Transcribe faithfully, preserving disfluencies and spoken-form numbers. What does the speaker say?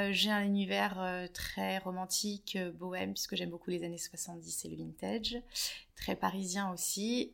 Euh, j'ai un univers euh, très romantique, euh, bohème, puisque j'aime beaucoup les années soixante-dix et le vintage, très parisien aussi.